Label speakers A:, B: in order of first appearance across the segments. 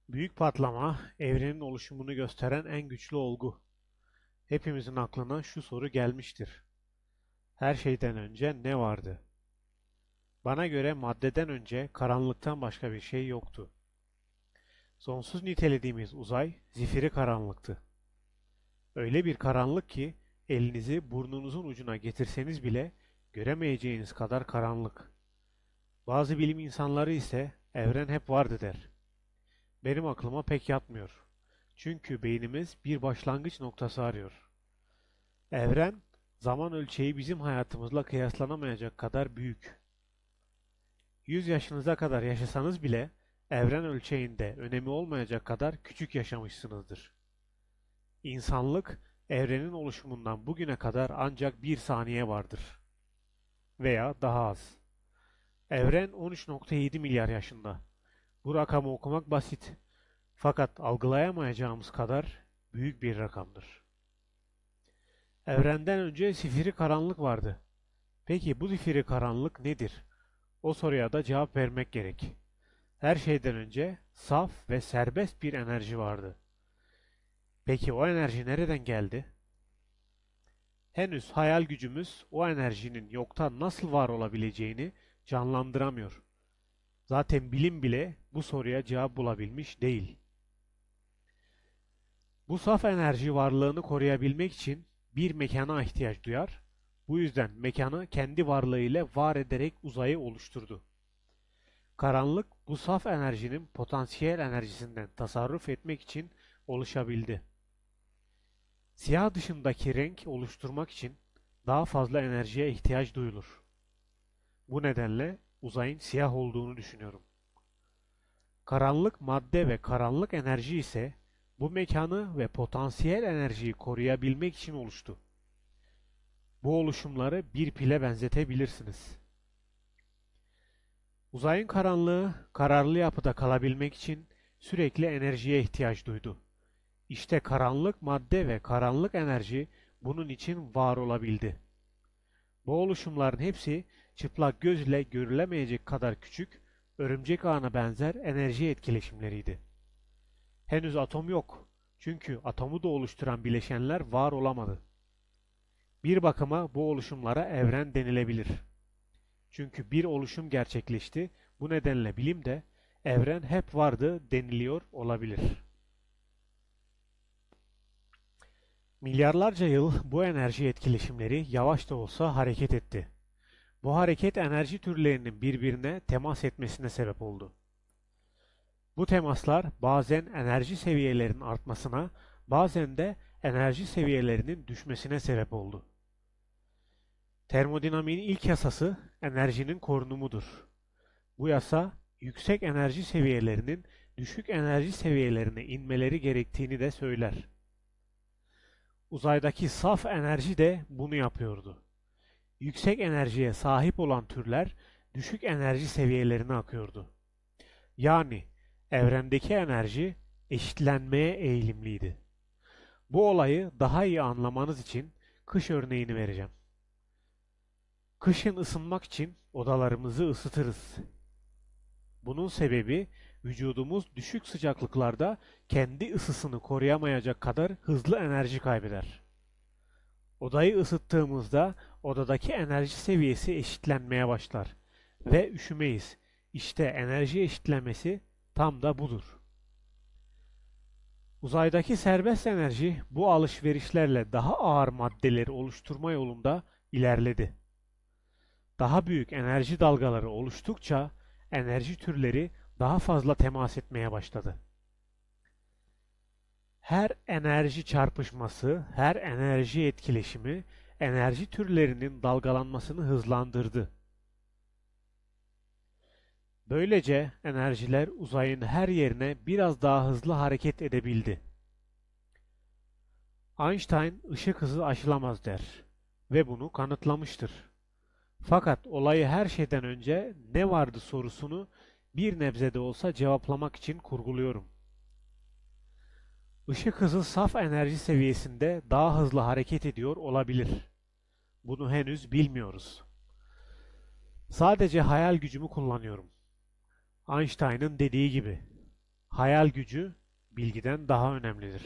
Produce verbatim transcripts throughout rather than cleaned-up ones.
A: Büyük patlama, evrenin oluşumunu gösteren en güçlü olgu. Hepimizin aklına şu soru gelmiştir. Her şeyden önce ne vardı? Bana göre maddeden önce karanlıktan başka bir şey yoktu. Sonsuz nitelediğimiz uzay zifiri karanlıktı. Öyle bir karanlık ki elinizi burnunuzun ucuna getirseniz bile göremeyeceğiniz kadar karanlık. Bazı bilim insanları ise evren hep vardı der. Benim aklıma pek yatmıyor. Çünkü beynimiz bir başlangıç noktası arıyor. Evren, zaman ölçeği bizim hayatımızla kıyaslanamayacak kadar büyük. Yüz yaşınıza kadar yaşasanız bile evren ölçeğinde önemi olmayacak kadar küçük yaşamışsınızdır. İnsanlık, evrenin oluşumundan bugüne kadar ancak bir saniye vardır. Veya daha az. Evren on üç nokta yedi milyar yaşında. Bu rakamı okumak basit. Fakat algılayamayacağımız kadar büyük bir rakamdır. Evrenden önce zifiri karanlık vardı. Peki bu zifiri karanlık nedir? O soruya da cevap vermek gerek. Her şeyden önce saf ve serbest bir enerji vardı. Peki o enerji nereden geldi? Henüz hayal gücümüz o enerjinin yoktan nasıl var olabileceğini canlandıramıyor. Zaten bilim bile bu soruya cevap bulabilmiş değil. Bu saf enerji varlığını koruyabilmek için bir mekana ihtiyaç duyar. Bu yüzden mekanı kendi varlığıyla var ederek uzayı oluşturdu. Karanlık bu saf enerjinin potansiyel enerjisinden tasarruf etmek için oluşabildi. Siyah dışındaki renk oluşturmak için daha fazla enerjiye ihtiyaç duyulur. Bu nedenle uzayın siyah olduğunu düşünüyorum. Karanlık madde ve karanlık enerji ise bu mekanı ve potansiyel enerjiyi koruyabilmek için oluştu. Bu oluşumları bir pile benzetebilirsiniz. Uzayın karanlığı, kararlı yapıda kalabilmek için sürekli enerjiye ihtiyaç duydu. İşte karanlık madde ve karanlık enerji bunun için var olabildi. Bu oluşumların hepsi çıplak göz ile görülemeyecek kadar küçük, örümcek ağına benzer enerji etkileşimleriydi. Henüz atom yok. Çünkü atomu da oluşturan bileşenler var olamadı. Bir bakıma bu oluşumlara evren denilebilir. Çünkü bir oluşum gerçekleşti, bu nedenle bilim de evren hep vardı deniliyor olabilir. Milyarlarca yıl bu enerji etkileşimleri yavaş da olsa hareket etti. Bu hareket enerji türlerinin birbirine temas etmesine sebep oldu. Bu temaslar bazen enerji seviyelerinin artmasına, bazen de enerji seviyelerinin düşmesine sebep oldu. Termodinamiğin ilk yasası enerjinin korunumudur. Bu yasa yüksek enerji seviyelerinin düşük enerji seviyelerine inmeleri gerektiğini de söyler. Uzaydaki saf enerji de bunu yapıyordu. Yüksek enerjiye sahip olan türler düşük enerji seviyelerine akıyordu. Yani evrendeki enerji eşitlenmeye eğilimliydi. Bu olayı daha iyi anlamanız için kış örneğini vereceğim. Kışın ısınmak için odalarımızı ısıtırız. Bunun sebebi vücudumuz düşük sıcaklıklarda kendi ısısını koruyamayacak kadar hızlı enerji kaybeder. Odayı ısıttığımızda odadaki enerji seviyesi eşitlenmeye başlar ve üşümeyiz. İşte enerji eşitlenmesi tam da budur. Uzaydaki serbest enerji bu alışverişlerle daha ağır maddeleri oluşturma yolunda ilerledi. Daha büyük enerji dalgaları oluştukça enerji türleri daha fazla temas etmeye başladı. Her enerji çarpışması, her enerji etkileşimi enerji türlerinin dalgalanmasını hızlandırdı. Böylece enerjiler uzayın her yerine biraz daha hızlı hareket edebildi. Einstein ışık hızı aşılamaz der ve bunu kanıtlamıştır. Fakat olayı her şeyden önce ne vardı sorusunu bir nebze de olsa cevaplamak için kurguluyorum. Işık hızı saf enerji seviyesinde daha hızlı hareket ediyor olabilir. Bunu henüz bilmiyoruz. Sadece hayal gücümü kullanıyorum. Einstein'ın dediği gibi. hayal gücü bilgiden daha önemlidir.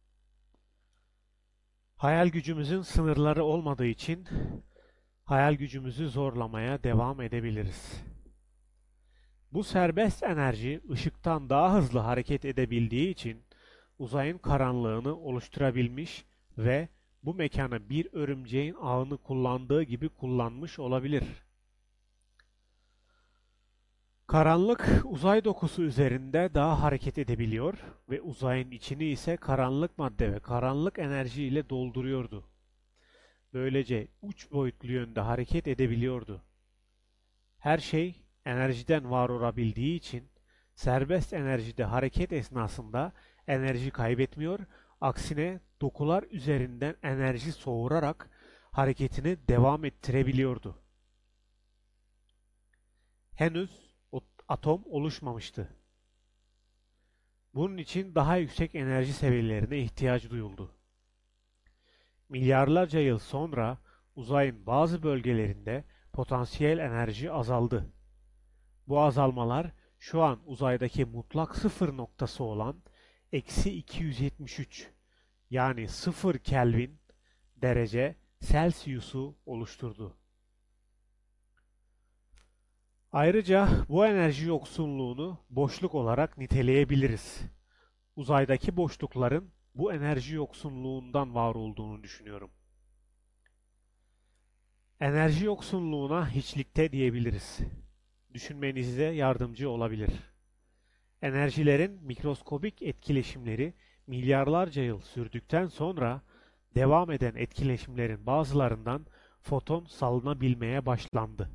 A: Hayal gücümüzün sınırları olmadığı için hayal gücümüzü zorlamaya devam edebiliriz. Bu serbest enerji ışıktan daha hızlı hareket edebildiği için uzayın karanlığını oluşturabilmiş ve bu mekanı bir örümceğin ağını kullandığı gibi kullanmış olabilir. Karanlık uzay dokusu üzerinde daha hareket edebiliyor ve uzayın içini ise karanlık madde ve karanlık enerji ile dolduruyordu. Böylece üç boyutlu yönde hareket edebiliyordu. Her şey enerjiden var olabildiği için serbest enerjide hareket esnasında enerji kaybetmiyor, aksine dokular üzerinden enerji soğurarak hareketini devam ettirebiliyordu. Henüz atom oluşmamıştı. Bunun için daha yüksek enerji seviyelerine ihtiyaç duyuldu. Milyarlarca yıl sonra uzayın bazı bölgelerinde potansiyel enerji azaldı. Bu azalmalar şu an uzaydaki mutlak sıfır noktası olan eksi iki yüz yetmiş üç yani sıfır Kelvin derece Celsius'u oluşturdu. Ayrıca bu enerji yoksunluğunu boşluk olarak niteleyebiliriz. Uzaydaki boşlukların bu enerji yoksunluğundan var olduğunu düşünüyorum. Enerji yoksunluğuna hiçlikte diyebiliriz. Düşünmenize yardımcı olabilir. Enerjilerin mikroskobik etkileşimleri milyarlarca yıl sürdükten sonra devam eden etkileşimlerin bazılarından foton salınabilmeye başlandı.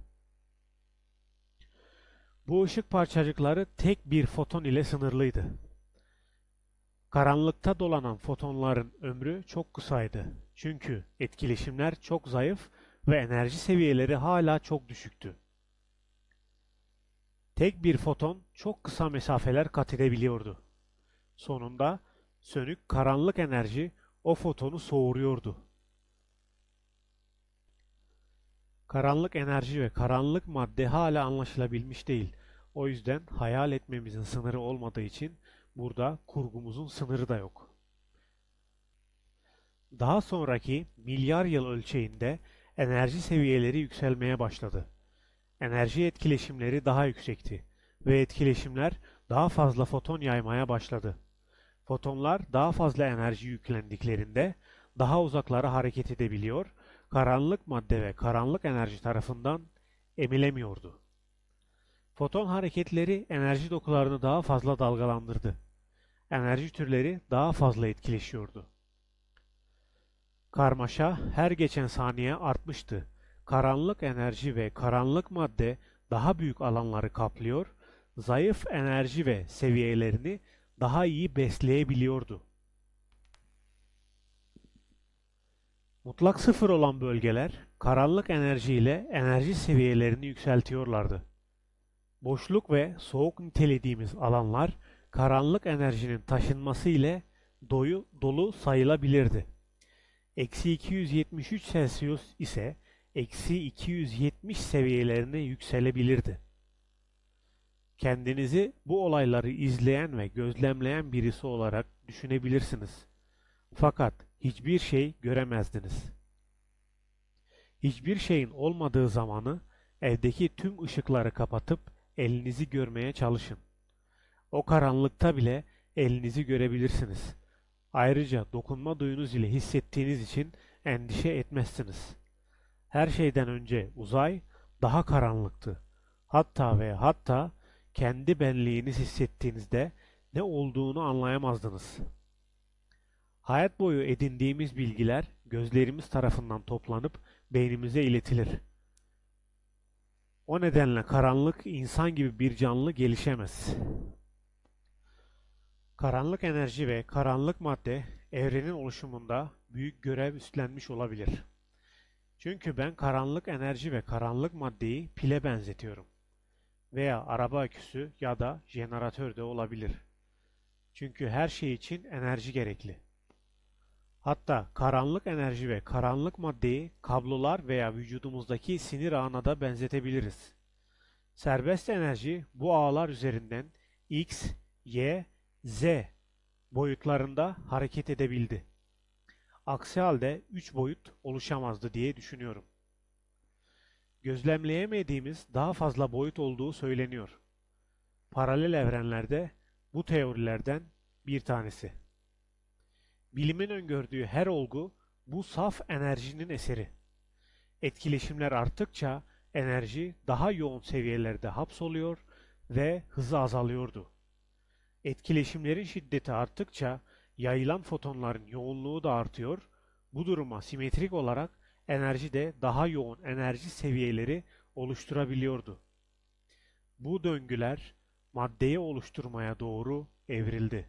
A: Bu ışık parçacıkları tek bir foton ile sınırlıydı. Karanlıkta dolanan fotonların ömrü çok kısaydı. Çünkü etkileşimler çok zayıf ve enerji seviyeleri hala çok düşüktü. Tek bir foton çok kısa mesafeler kat edebiliyordu. Sonunda sönük karanlık enerji o fotonu soğuruyordu. Karanlık enerji ve karanlık madde hala anlaşılabilmiş değil. O yüzden hayal etmemizin sınırı olmadığı için burada kurgumuzun sınırı da yok. Daha sonraki milyar yıl ölçeğinde enerji seviyeleri yükselmeye başladı. Enerji etkileşimleri daha yüksekti ve etkileşimler daha fazla foton yaymaya başladı. Fotonlar daha fazla enerji yüklendiklerinde daha uzaklara hareket edebiliyor, karanlık madde ve karanlık enerji tarafından emilemiyordu. Foton hareketleri enerji dokularını daha fazla dalgalandırdı. Enerji türleri daha fazla etkileşiyordu. Karmaşa her geçen saniye artmıştı. Karanlık enerji ve karanlık madde daha büyük alanları kaplıyor, zayıf enerji ve seviyelerini daha iyi besleyebiliyordu. Mutlak sıfır olan bölgeler, karanlık enerji ile enerji seviyelerini yükseltiyorlardı. Boşluk ve soğuk nitelediğimiz alanlar, karanlık enerjinin taşınması ile doyu, dolu sayılabilirdi. Eksi iki yüz yetmiş üç Celsius ise eksi iki yüz yetmiş seviyelerine yükselebilirdi. Kendinizi bu olayları izleyen ve gözlemleyen birisi olarak düşünebilirsiniz. Fakat hiçbir şey göremezdiniz. Hiçbir şeyin olmadığı zamanı evdeki tüm ışıkları kapatıp elinizi görmeye çalışın. O karanlıkta bile elinizi görebilirsiniz. Ayrıca dokunma duyunuz ile hissettiğiniz için endişe etmezsiniz. Her şeyden önce uzay daha karanlıktı. Hatta ve hatta kendi benliğiniz hissettiğinizde ne olduğunu anlayamazdınız. Hayat boyu edindiğimiz bilgiler gözlerimiz tarafından toplanıp beynimize iletilir. O nedenle karanlık insan gibi bir canlı gelişemez. Karanlık enerji ve karanlık madde evrenin oluşumunda büyük görev üstlenmiş olabilir. Çünkü ben karanlık enerji ve karanlık maddeyi pile benzetiyorum. Veya araba aküsü ya da jeneratör de olabilir. Çünkü her şey için enerji gerekli. Hatta karanlık enerji ve karanlık maddeyi kablolar veya vücudumuzdaki sinir ağına da benzetebiliriz. Serbest enerji bu ağlar üzerinden X, Y Z boyutlarında hareket edebildi. Aksi halde üç boyut oluşamazdı diye düşünüyorum. Gözlemleyemediğimiz daha fazla boyut olduğu söyleniyor. Paralel evrenlerde bu teorilerden bir tanesi. Bilimin öngördüğü her olgu bu saf enerjinin eseri. Etkileşimler arttıkça enerji daha yoğun seviyelerde hapsoluyor ve hızı azalıyordu. Etkileşimlerin şiddeti arttıkça yayılan fotonların yoğunluğu da artıyor. Bu duruma simetrik olarak enerji de daha yoğun enerji seviyeleri oluşturabiliyordu. Bu döngüler maddeyi oluşturmaya doğru evrildi.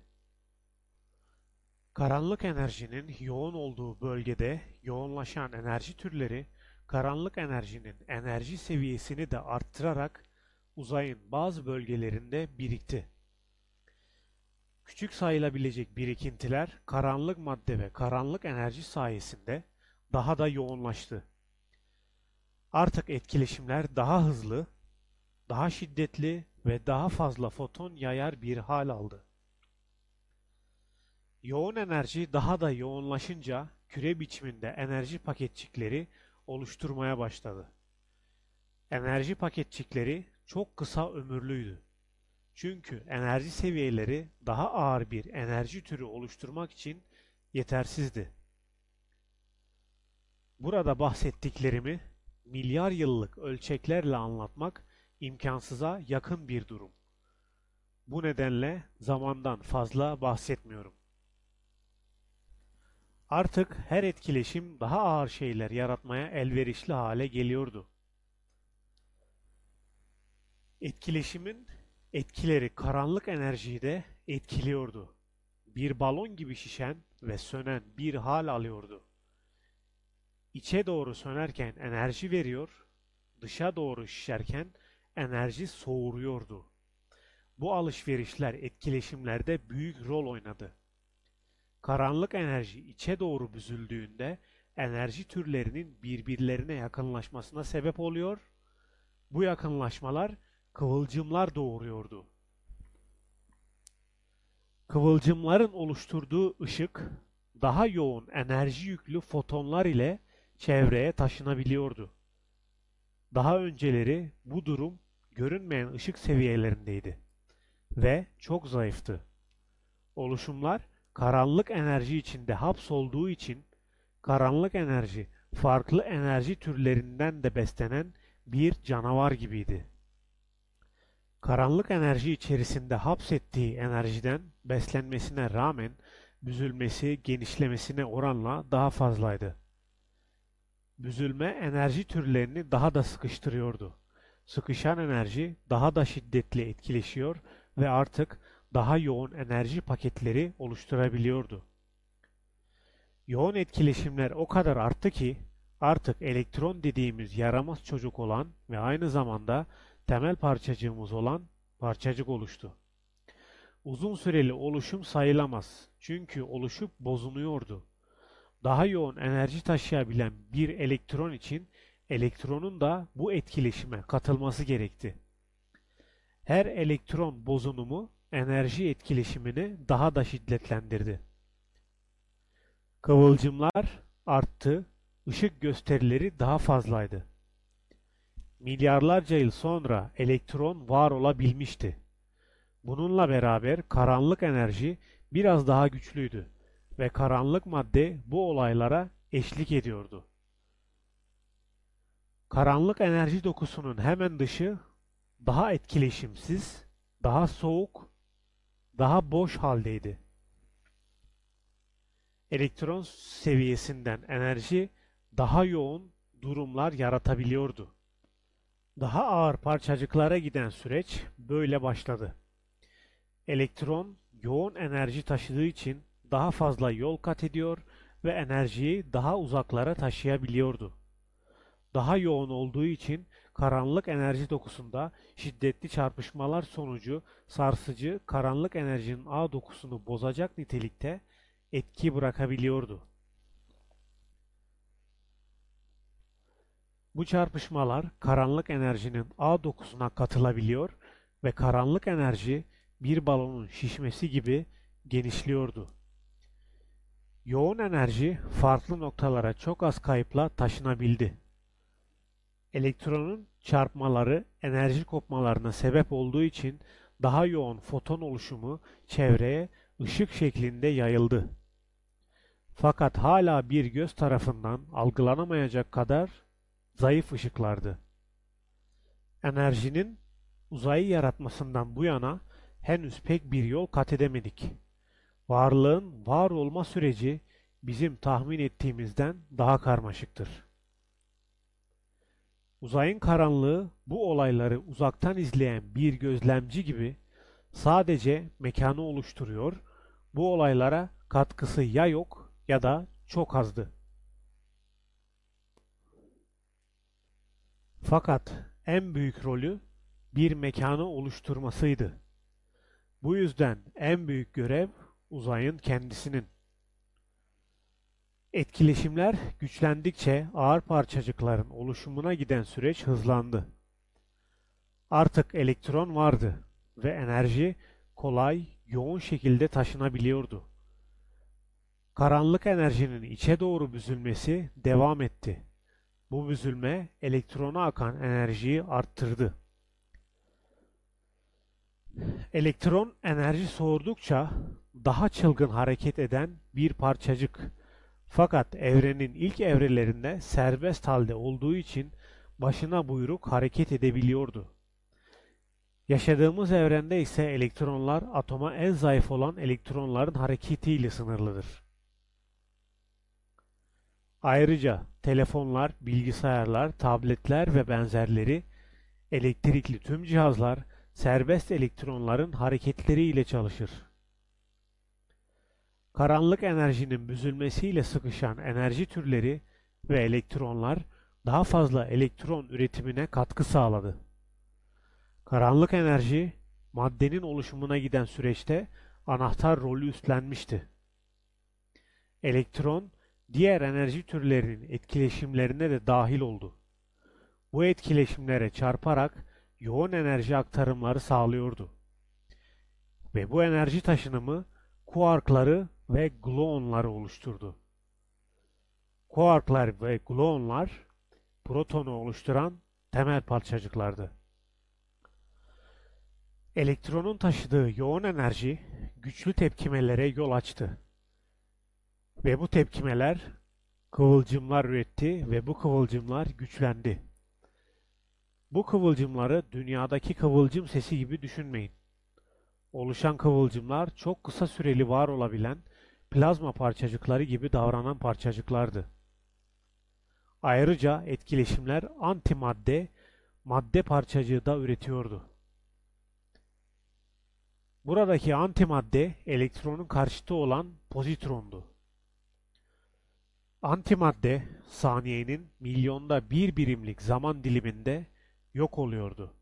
A: Karanlık enerjinin yoğun olduğu bölgede yoğunlaşan enerji türleri, karanlık enerjinin enerji seviyesini de arttırarak uzayın bazı bölgelerinde birikti. Küçük sayılabilecek birikintiler karanlık madde ve karanlık enerji sayesinde daha da yoğunlaştı. Artık etkileşimler daha hızlı, daha şiddetli ve daha fazla foton yayar bir hal aldı. Yoğun enerji daha da yoğunlaşınca küre biçiminde enerji paketçikleri oluşturmaya başladı. Enerji paketçikleri çok kısa ömürlüydü. Çünkü enerji seviyeleri daha ağır bir enerji türü oluşturmak için yetersizdi. Burada bahsettiklerimi milyar yıllık ölçeklerle anlatmak imkansıza yakın bir durum. Bu nedenle zamandan fazla bahsetmiyorum. Artık her etkileşim daha ağır şeyler yaratmaya elverişli hale geliyordu. Etkileşimin etkileri karanlık enerjiyi de etkiliyordu. Bir balon gibi şişen ve sönen bir hal alıyordu. İçe doğru sönerken enerji veriyor, dışa doğru şişerken enerji soğuruyordu. Bu alışverişler etkileşimlerde büyük rol oynadı. Karanlık enerji içe doğru büzüldüğünde enerji türlerinin birbirlerine yakınlaşmasına sebep oluyor. Bu yakınlaşmalar kıvılcımlar doğuruyordu. Kıvılcımların oluşturduğu ışık daha yoğun enerji yüklü fotonlar ile çevreye taşınabiliyordu. Daha önceleri bu durum görünmeyen ışık seviyelerindeydi ve çok zayıftı. Oluşumlar karanlık enerji içinde hapsolduğu için karanlık enerji farklı enerji türlerinden de beslenen bir canavar gibiydi. Karanlık enerji içerisinde hapsettiği enerjiden beslenmesine rağmen büzülmesi genişlemesine oranla daha fazlaydı. Büzülme enerji türlerini daha da sıkıştırıyordu. Sıkışan enerji daha da şiddetli etkileşiyor ve artık daha yoğun enerji paketleri oluşturabiliyordu. Yoğun etkileşimler o kadar arttı ki artık elektron dediğimiz yaramaz çocuk olan ve aynı zamanda temel parçacığımız olan parçacık oluştu. Uzun süreli oluşum sayılamaz çünkü oluşup bozuluyordu. Daha yoğun enerji taşıyabilen bir elektron için elektronun da bu etkileşime katılması gerekti. Her elektron bozunumu enerji etkileşimini daha da şiddetlendirdi. Kıvılcımlar arttı, ışık gösterileri daha fazlaydı. Milyarlarca yıl sonra elektron var olabilmişti. Bununla beraber karanlık enerji biraz daha güçlüydü ve karanlık madde bu olaylara eşlik ediyordu. Karanlık enerji dokusunun hemen dışı daha etkileşimsiz, daha soğuk, daha boş haldeydi. Elektron seviyesinden enerji daha yoğun durumlar yaratabiliyordu. Daha ağır parçacıklara giden süreç böyle başladı. Elektron yoğun enerji taşıdığı için daha fazla yol kat ediyor ve enerjiyi daha uzaklara taşıyabiliyordu. Daha yoğun olduğu için karanlık enerji dokusunda şiddetli çarpışmalar sonucu sarsıcı karanlık enerjinin ağ dokusunu bozacak nitelikte etki bırakabiliyordu. Bu çarpışmalar karanlık enerjinin ağ dokusuna katılabiliyor ve karanlık enerji bir balonun şişmesi gibi genişliyordu. Yoğun enerji farklı noktalara çok az kayıpla taşınabildi. Elektronun çarpmaları enerji kopmalarına sebep olduğu için daha yoğun foton oluşumu çevreye ışık şeklinde yayıldı. Fakat hala bir göz tarafından algılanamayacak kadar zayıf ışıklardı. Enerjinin uzayı yaratmasından bu yana henüz pek bir yol kat edemedik. Varlığın var olma süreci bizim tahmin ettiğimizden daha karmaşıktır. Uzayın karanlığı bu olayları uzaktan izleyen bir gözlemci gibi sadece mekanı oluşturuyor, bu olaylara katkısı ya yok ya da çok azdı. Fakat en büyük rolü bir mekanı oluşturmasıydı. Bu yüzden en büyük görev uzayın kendisinin. Etkileşimler güçlendikçe ağır parçacıkların oluşumuna giden süreç hızlandı. Artık elektron vardı ve enerji kolay, yoğun şekilde taşınabiliyordu. Karanlık enerjinin içe doğru büzülmesi devam etti. Bu büzülme elektrona akan enerjiyi arttırdı. Elektron enerji soğudukça daha çılgın hareket eden bir parçacık. Fakat evrenin ilk evrelerinde serbest halde olduğu için başına buyruk hareket edebiliyordu. Yaşadığımız evrende ise elektronlar atoma en zayıf olan elektronların hareketiyle sınırlıdır. Ayrıca telefonlar, bilgisayarlar, tabletler ve benzerleri, elektrikli tüm cihazlar serbest elektronların hareketleriyle çalışır. Karanlık enerjinin büzülmesiyle sıkışan enerji türleri ve elektronlar daha fazla elektron üretimine katkı sağladı. Karanlık enerji, maddenin oluşumuna giden süreçte anahtar rolü üstlenmişti. Elektron, diğer enerji türlerinin etkileşimlerine de dahil oldu. Bu etkileşimlere çarparak yoğun enerji aktarımları sağlıyordu. Ve bu enerji taşınımı kuarkları ve gluonları oluşturdu. Kuarklar ve gluonlar protonu oluşturan temel parçacıklardı. Elektronun taşıdığı yoğun enerji güçlü tepkimelere yol açtı. Ve bu tepkimeler kıvılcımlar üretti ve bu kıvılcımlar güçlendi. Bu kıvılcımları dünyadaki kıvılcım sesi gibi düşünmeyin. Oluşan kıvılcımlar çok kısa süreli var olabilen plazma parçacıkları gibi davranan parçacıklardı. Ayrıca etkileşimler antimadde, madde parçacığı da üretiyordu. Buradaki antimadde elektronun karşıtı olan pozitrondu. Antimadde saniyenin milyonda bir birimlik zaman diliminde yok oluyordu.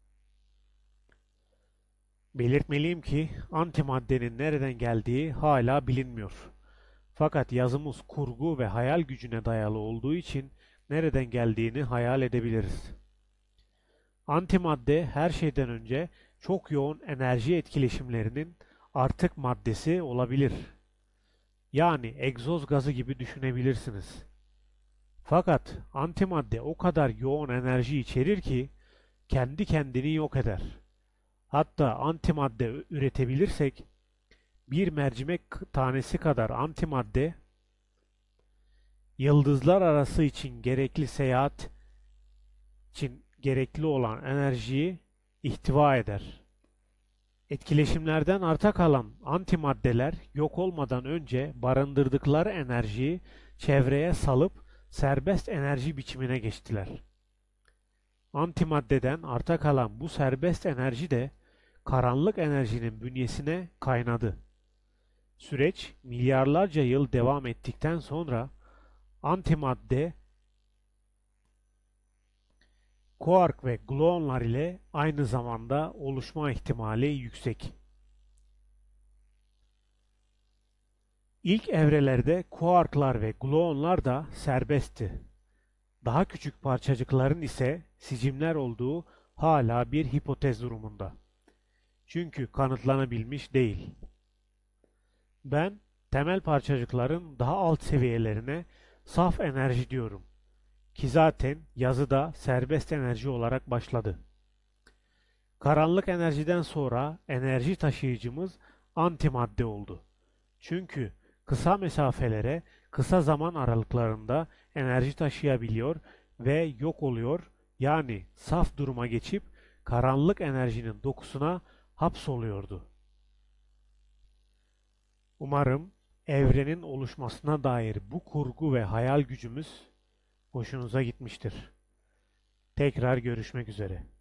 A: Belirtmeliyim ki antimaddenin nereden geldiği hala bilinmiyor. Fakat yazımız kurgu ve hayal gücüne dayalı olduğu için nereden geldiğini hayal edebiliriz. Antimadde her şeyden önce çok yoğun enerji etkileşimlerinin artık maddesi olabilir. Yani egzoz gazı gibi düşünebilirsiniz. Fakat antimadde o kadar yoğun enerji içerir ki kendi kendini yok eder. Hatta antimadde üretebilirsek bir mercimek tanesi kadar antimadde yıldızlar arası için gerekli seyahat için gerekli olan enerjiyi ihtiva eder. Etkileşimlerden arta kalan antimaddeler yok olmadan önce barındırdıkları enerjiyi çevreye salıp serbest enerji biçimine geçtiler. Antimaddeden arta kalan bu serbest enerji de karanlık enerjinin bünyesine kaynadı. Süreç milyarlarca yıl devam ettikten sonra antimadde kuark ve gluonlar ile aynı zamanda oluşma ihtimali yüksek. İlk evrelerde kuarklar ve gluonlar da serbestti. Daha küçük parçacıkların ise sicimler olduğu hala bir hipotez durumunda. Çünkü kanıtlanabilmiş değil. Ben temel parçacıkların daha alt seviyelerine saf enerji diyorum ki zaten yazıda serbest enerji olarak başladı. Karanlık enerjiden sonra enerji taşıyıcımız antimadde oldu. Çünkü kısa mesafelere kısa zaman aralıklarında enerji taşıyabiliyor ve yok oluyor, yani saf duruma geçip karanlık enerjinin dokusuna hapsoluyordu. Umarım evrenin oluşmasına dair bu kurgu ve hayal gücümüz hoşunuza gitmiştir. Tekrar görüşmek üzere.